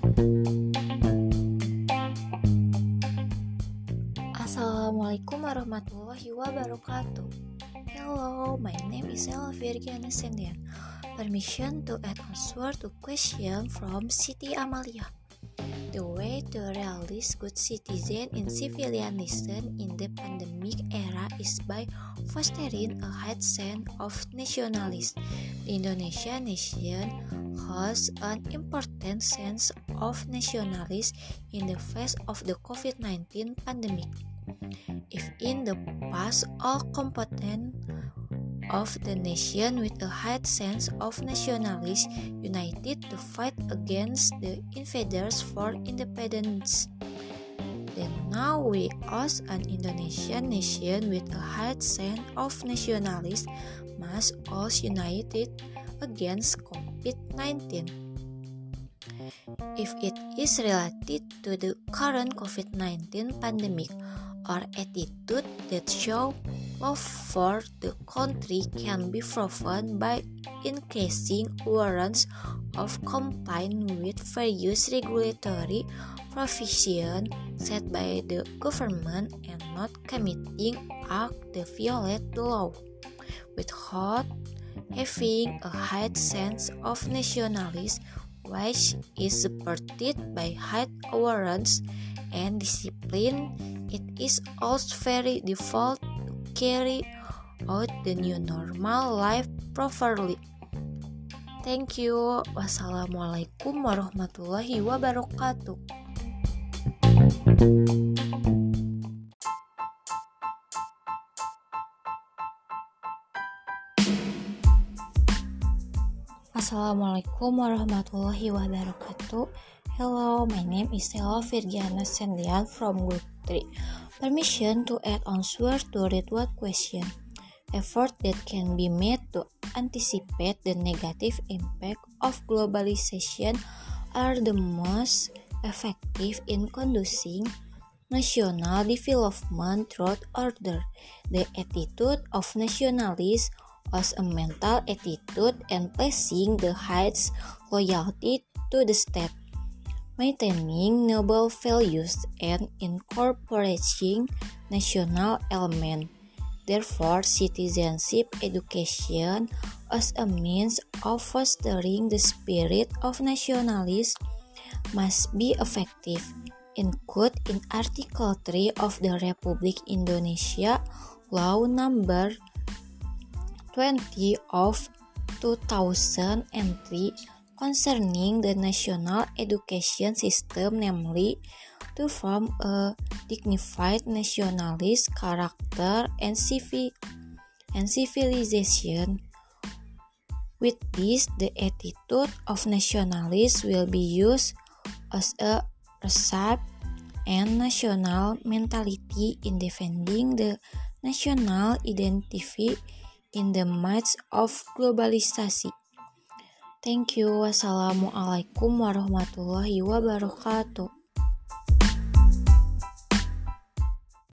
Assalamualaikum warahmatullahi wabarakatuh. Hello, my name is Ella Virgiana Sendian. Permission to add answer to question from Siti Amalia. The way to realize good citizen in civilianism in the pandemic era is by fostering a high sense of nationalism. The Indonesian nation has an important sense of nationalism in the face of the COVID-19 pandemic. If in the past all components of the nation with a high sense of nationalism united to fight against the invaders for independence, then now we as an Indonesian nation with a high sense of nationalism must also unite against COVID-19. If it is related to the current COVID-19 pandemic, or attitude that show love for the country can be proven by increasing awareness of complying with various regulatory provisions set by the government and not committing acts that violate the law. Without having a high sense of nationalism, which is supported by high awareness and discipline, it is also very difficult to carry out the new normal life properly. Thank you. Wassalamualaikum warahmatullahi wabarakatuh. Assalamualaikum warahmatullahi wabarakatuh. Hello, my name is Ella Virgiana Sendian from Group 3. Permission to add answer to read what question. Effort that can be made to anticipate the negative impact of globalization are the most effective in conducing national development through order. The attitude of nationalism as a mental attitude and placing the highest loyalty to the state, maintaining noble values and incorporating national element. Therefore, citizenship education as a means of fostering the spirit of nationalism must be effective. Included in Article 3 of the Republic Indonesia Law Number 20 of 2003 concerning the national education system, namely to form a dignified nationalist character and civilization. With this, the attitude of nationalism will be used as a recipe and national mentality in defending the national identity in the midst of globalization. Thank you. Wassalamualaikum warahmatullahi wabarakatuh.